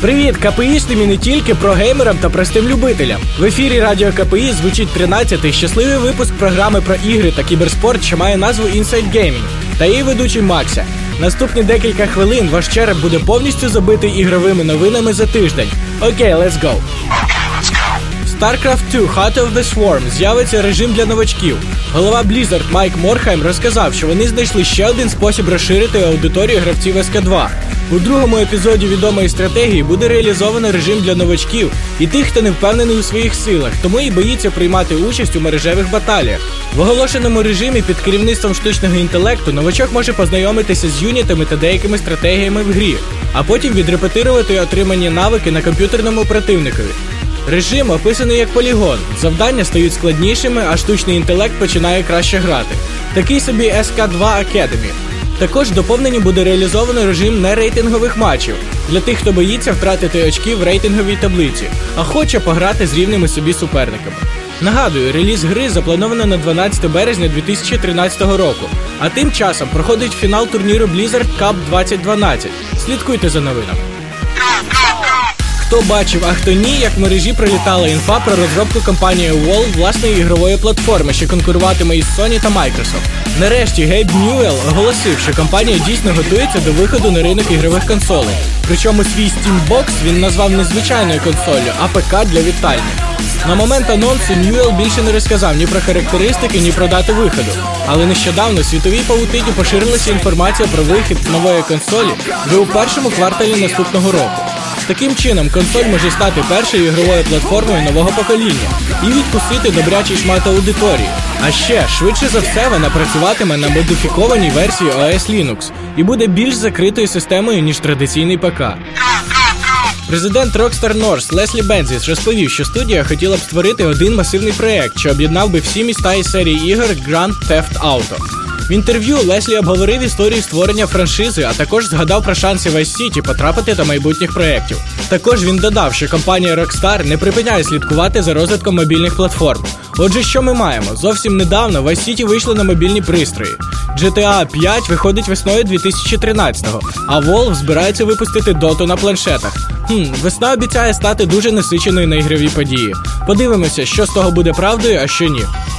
Привіт, КПІшним і не тільки, прогеймерам та простим любителям. В ефірі Радіо КПІ звучить 13-й щасливий випуск програми про ігри та кіберспорт, що має назву Inside Gaming, та її ведучий Макся. Наступні декілька хвилин ваш череп буде повністю забитий ігровими новинами за тиждень. Окей, let's go! StarCraft 2 Heart of the Swarm з'явиться режим для новачків. Голова Blizzard Майк Морхайм розказав, що вони знайшли ще один спосіб розширити аудиторію гравців СК2. У другому епізоді відомої стратегії буде реалізовано режим для новачків і тих, хто не впевнений у своїх силах, тому і боїться приймати участь у мережевих баталіях. В оголошеному режимі під керівництвом штучного інтелекту новачок може познайомитися з юнітами та деякими стратегіями в грі, а потім відрепетирувати отримані навики на комп'ютерному противникові. Режим описаний як полігон, завдання стають складнішими, а штучний інтелект починає краще грати. Такий собі SK2 Academy. Також в доповненні буде реалізовано режим нерейтингових матчів для тих, хто боїться втратити очки в рейтинговій таблиці, а хоче пограти з рівними собі суперниками. Нагадую, реліз гри заплановано на 12 березня 2013 року, а тим часом проходить фінал турніру Blizzard Cup 2012. Слідкуйте за новинами. Хто бачив, а хто ні, як в мережі пролітала інфа про розробку компанії Valve власної ігрової платформи, що конкуруватиме із Sony та Microsoft. Нарешті Гейб Ньюелл оголосив, що компанія дійсно готується до виходу на ринок ігрових консолей. Причому свій Steam Box він назвав не звичайною консолью, а ПК для вітальні. На момент анонсу Ньюелл більше не розказав ні про характеристики, ні про дату виходу. Але нещодавно в світовій павутині поширилася інформація про вихід нової консолі вже у першому кварталі наступного року. Таким чином, консоль може стати першою ігровою платформою нового покоління і відкусити добрячий шмат аудиторії. А ще, швидше за все, вона працюватиме на модифікованій версії OS Linux і буде більш закритою системою, ніж традиційний ПК. Президент Rockstar North Леслі Бензіс розповів, що студія хотіла б створити один масивний проєкт, що об'єднав би всі міста із серії ігор Grand Theft Auto. В інтерв'ю Леслі обговорив історію створення франшизи, а також згадав про шанси Vice City потрапити до майбутніх проєктів. Також він додав, що компанія Rockstar не припиняє слідкувати за розвитком мобільних платформ. Отже, що ми маємо? Зовсім недавно Vice City вийшли на мобільні пристрої. GTA 5 виходить весною 2013-го, а Valve збирається випустити Dota на планшетах. Весна обіцяє стати дуже насиченою на ігрові події. Подивимося, що з того буде правдою, а що ні.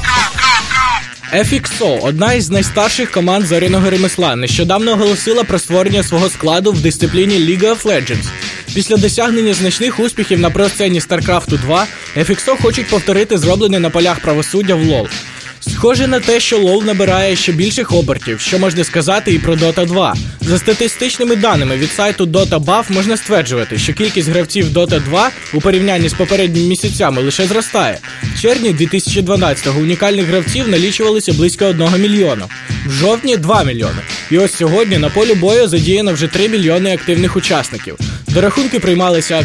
FXO, одна із найстарших команд зоряного ремесла, нещодавно оголосила про створення свого складу в дисципліні League of Legends. Після досягнення значних успіхів на про-сцені StarCraft 2, FXO хочуть повторити зроблене на полях правосуддя в LoL. Схоже на те, що LoL набирає ще більших обертів, що можна сказати і про Dota 2. За статистичними даними від сайту DotaBuff можна стверджувати, що кількість гравців Dota 2 у порівнянні з попередніми місяцями лише зростає. В червні 2012-го унікальних гравців налічувалося близько 1 мільйона. В жовтні – 2 мільйони. І ось сьогодні на полі бою задіяно вже 3 мільйони активних учасників. До рахунку приймалися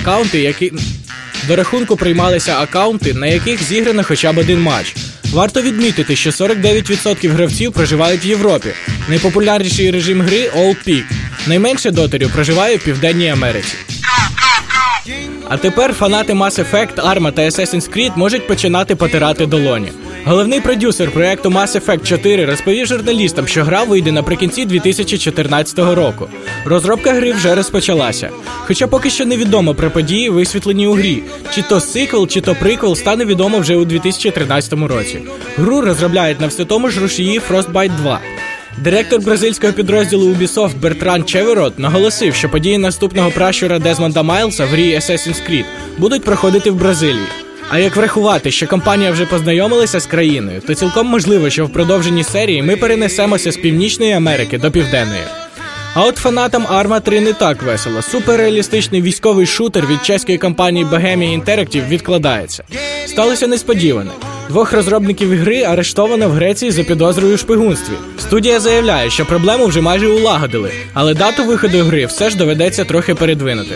акаунти, на яких зіграно хоча б один матч. Варто відмітити, що 49% гравців проживають в Європі. Найпопулярніший режим гри – All Peak. Найменше дотерів проживає в Південній Америці. А тепер фанати Mass Effect, Arma та Assassin's Creed можуть починати потирати долоні. Головний продюсер проєкту Mass Effect 4 розповів журналістам, що гра вийде наприкінці 2014 року. Розробка гри вже розпочалася. Хоча поки що невідомо про події, висвітлені у грі. Чи то сиквел, чи то приквел стане відомо вже у 2013 році. Гру розробляють на все тому ж рушії Frostbite 2. Директор бразильського підрозділу Ubisoft Бертран Чеверот наголосив, що події наступного пращура Дезмонда Майлса в грі Assassin's Creed будуть проходити в Бразилії. А як врахувати, що компанія вже познайомилася з країною, то цілком можливо, що в продовженні серії ми перенесемося з Північної Америки до Південної. А от фанатам Arma 3 не так весело. Суперреалістичний військовий шутер від чеської компанії Bohemia Interactive відкладається. Сталося несподіване. 2 розробників гри арештовано в Греції за підозрою у шпигунстві. Студія заявляє, що проблему вже майже улагодили, але дату виходу гри все ж доведеться трохи передвинути.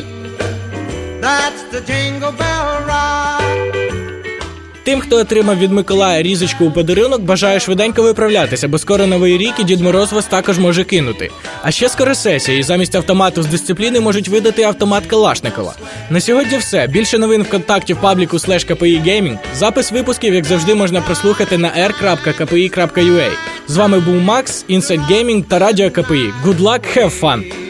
Тим, хто отримав від Миколая різочку у подарунок, бажаю швиденько виправлятися, бо скоро Новий рік і Дід Мороз вас також може кинути. А ще скоро сесія, і замість автомату з дисципліни можуть видати автомат Калашникова. На сьогодні все. Більше новин в контакті в пабліку /KPI-Gaming. Запис випусків, як завжди, можна прослухати на r.kpi.ua. З вами був Макс, Inside Gaming та Радіо КПІ. Good luck, have fun!